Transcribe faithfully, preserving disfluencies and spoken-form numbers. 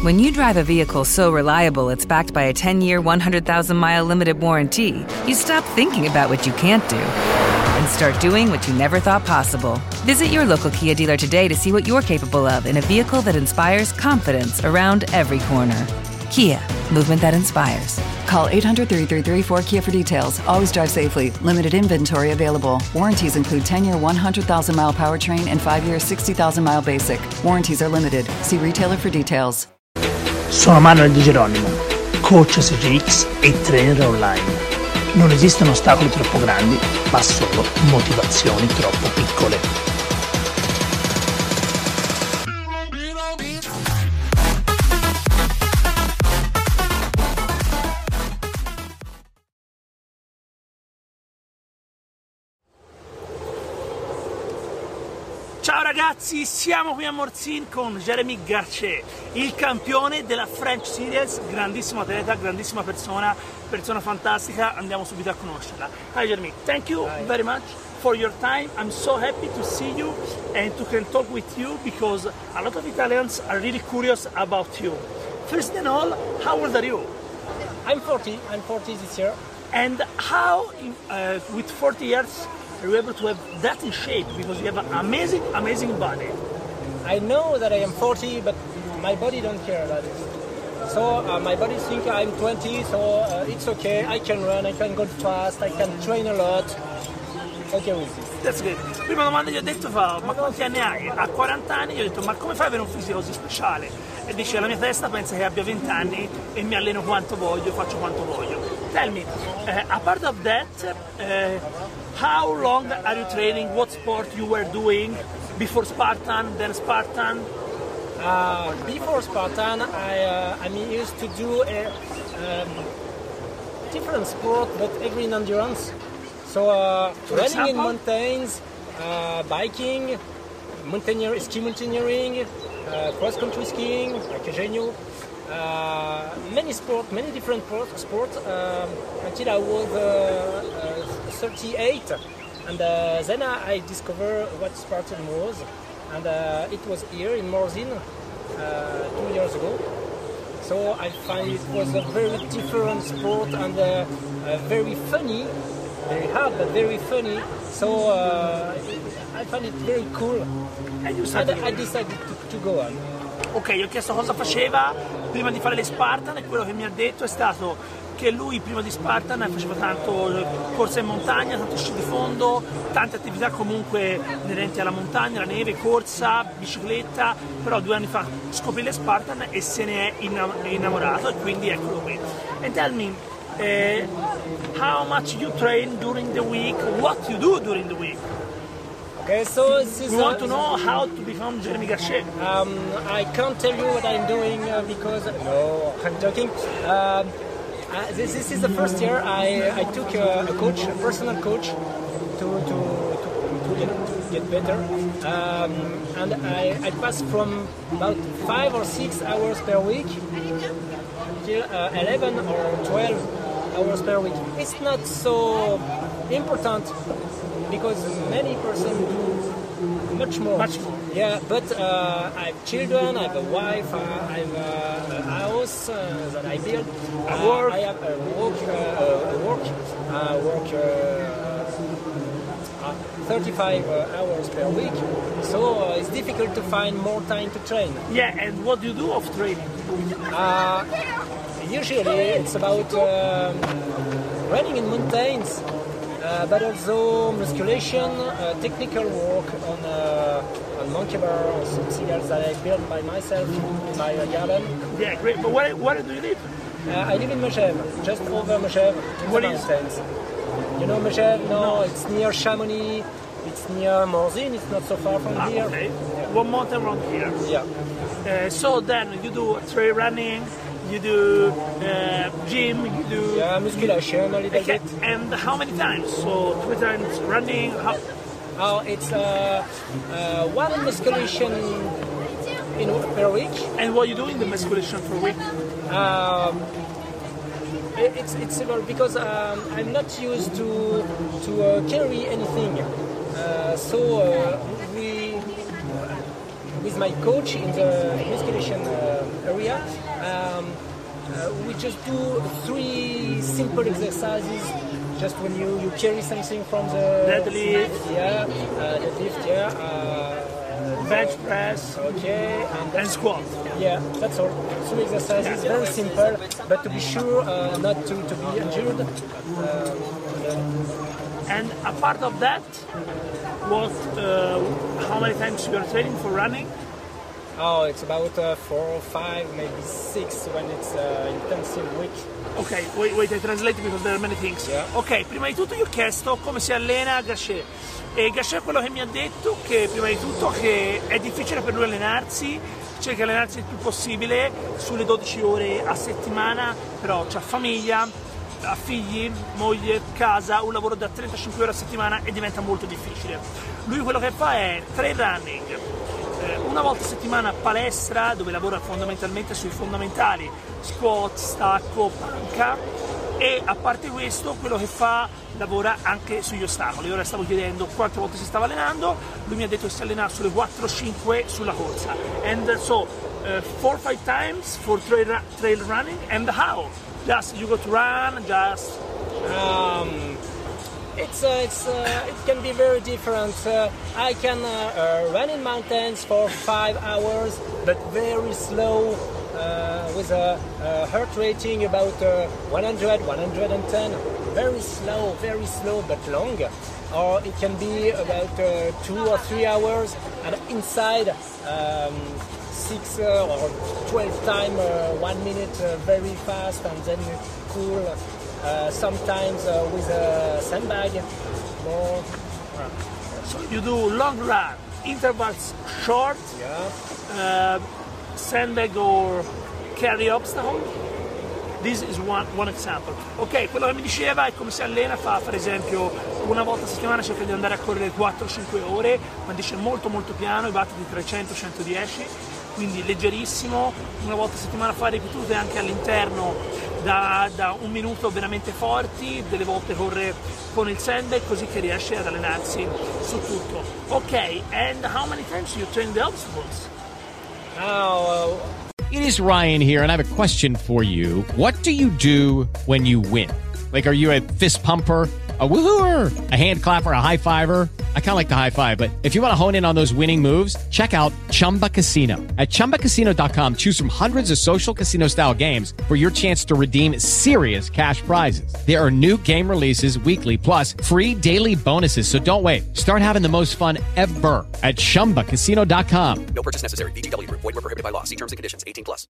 When you drive a vehicle so reliable it's backed by a ten-year, one hundred thousand mile limited warranty, you stop thinking about what you can't do and start doing what you never thought possible. Visit your local Kia dealer today to see what you're capable of in a vehicle that inspires confidence around every corner. Kia, movement that inspires. Call eight hundred, three three three, four K I A for details. Always drive safely. Limited inventory available. Warranties include ten-year, one hundred thousand mile powertrain and five-year, sixty thousand mile basic. Warranties are limited. See retailer for details. Sono Manuel Di Geronimo, coach S G X e trainer online. Non esistono ostacoli troppo grandi, ma solo motivazioni troppo piccole. Ciao ragazzi, siamo qui a Morzine con Jérémy Garchet, il campione della French Series, grandissimo atleta, grandissima persona, persona fantastica, andiamo subito a conoscerla. Hi Jérémy, thank you Hi. very much for your time. I'm so happy to see you and to can talk with you because a lot of Italians are really curious about you. First and all, how old are you? I'm forty, I'm forty this year. And how, uh, with forty years, are you able to have that in shape? Because you have an amazing, amazing body. I know that I am forty, but my body don't care about it. So uh, my body thinks I'm twenty, so uh, it's okay. I can run, I can go fast, I can train a lot. Okay with this. That's good. Prima domanda gli ho detto, fa, ma quanti anni hai? A quaranta anni, gli ho detto, ma come fai ad avere un fisico così speciale? E dice, la mia testa pensa che abbia venti anni e mi alleno quanto voglio, faccio quanto voglio. Tell me, uh, apart of that, uh, how long are you training? What sport you were doing before Spartan, then Spartan? Uh, before Spartan, I uh, I'm used to do a um, different sport, but agree in endurance. So uh, running example? in mountains, uh, biking, mountaineer, ski mountaineering, uh, cross-country skiing, like a Genio. Uh, many sport, many different sports um, until I was uh, uh, thirty-eight, and uh, then I discovered what Spartan was, and uh, it was here in Morzine uh, two years ago. So I find it was a very different sport and uh, uh, very funny, very hard but very funny. So uh, I find it very cool, and I decided to, to go on. Ok, gli ho chiesto cosa faceva prima di fare le Spartan e quello che mi ha detto è stato che lui prima di Spartan faceva tanto corsa in montagna, tanto sci di fondo, tante attività comunque inerenti alla montagna, la neve, corsa, bicicletta, però due anni fa scoprì le Spartan e se ne è innamorato e quindi eccolo qui. And tell me, uh, how much you train during the week, what you do during the week? Okay, so this is we want to know how to become Jérémy Garchet. Um, I can't tell you what I'm doing uh, because no, I'm joking. Um, uh, this, this is the first year I, I took a, a coach, a personal coach, to to, to, to, get, to get better. Um, and I, I passed from about five or six hours per week till uh, eleven or twelve hours per week. It's not so important, because many persons do much more. Much more. Yeah, but uh, I have children, I have a wife, uh, I have uh, a house uh, that I build. Uh, work. I have a work, uh, a work, uh, work uh, uh, thirty-five uh, hours per week. So uh, it's difficult to find more time to train. Yeah, and what do you do of training? Uh, usually it's about um, running in mountains. Uh, but also musculation, uh, technical work on uh, on monkey bar, on some seals that I built by myself in my garden. Yeah, great. But where, where do you live? Uh, I live in Megève, just over Megève, in what the is? mountains. You know Megève? No, no, it's near Chamonix. It's near Morzine. It's not so far from Ah, here. okay. One mountain around here. Yeah. Uh, so then you do trail running. You do uh, gym, you do... Yeah, musculation a little okay. bit. And how many times? So three times running? How... Oh, it's uh, uh, one musculation in, per week. And what you do in the musculation per week? Um, it, it's it's about because um, I'm not used to to uh, carry anything. Uh, so uh, we with my coach in the musculation uh, area. Um, uh, we just do three simple exercises. Just when you, you carry something from the deadlift, yeah, uh, deadlift, yeah, uh, bench press, okay, and, and squat. Yeah, that's all. Three exercises, very simple, but to be sure uh, not to, to be injured. Uh, and a part of that, what, uh, how many times you are training for running? Oh, it's about uh, four or five, maybe six when it's uh, intensive week. Ok, wait, wait, I translate because there are many things. Yeah. Ok, prima di tutto io ho chiesto come si allena Gachet. E Gachet è quello che mi ha detto che prima di tutto che è difficile per lui allenarsi, cerca di allenarsi il più possibile sulle dodici ore a settimana, però c'ha famiglia, ha figli, moglie, casa, un lavoro da trentacinque ore a settimana e diventa molto difficile. Lui quello che fa è trail running, una volta a settimana palestra dove lavora fondamentalmente sui fondamentali, squat, stacco, panca, e a parte questo quello che fa lavora anche sugli ostacoli. Ora stavo chiedendo quante volte si stava allenando, lui mi ha detto che si allena sulle quattro cinque sulla corsa. And so uh, four or five times for trail, trail running. And how? Just you go to run, just um It's, uh, it's, uh, it can be very different. Uh, I can uh, uh, run in mountains for five hours, but very slow, uh, with a, a heart rating about uh, one hundred, one hundred ten. Very slow, very slow, but long. Or it can be about uh, two or three hours, and inside um, six uh, or twelve times, uh, one minute, uh, very fast, and then cool. Uh, sometimes uh, with a sandbag, more. So you do long run, intervals short, yeah. uh, sandbag or carry obstacle. This is one, one example. Ok, quello che mi diceva è come si allena, fa per esempio una volta a settimana cerca di andare a correre quattro cinque ore, ma dice molto molto piano, i battiti trecento centodieci, quindi leggerissimo, una volta a settimana fa ripetute anche all'interno da, da un minuto veramente forti, delle volte corre con il sandbag così che riesce ad allenarsi su tutto. Ok, and how many times you train the obstacles? Now, uh... It is Ryan here, and I have a question for you. What do you do when you win? Like, are you a fist pumper, a woohooer, a hand clapper, a high fiver? I kind of like the high five, but if you want to hone in on those winning moves, check out Chumba Casino. At chumba casino dot com, choose from hundreds of social casino style games for your chance to redeem serious cash prizes. There are new game releases weekly, plus free daily bonuses. So don't wait. Start having the most fun ever at chumba casino dot com. No purchase necessary. V G W Group. Void where prohibited by law. See terms and conditions. eighteen plus.